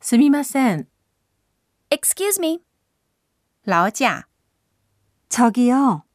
すみません。 Excuse me. 劳驾。 저기요.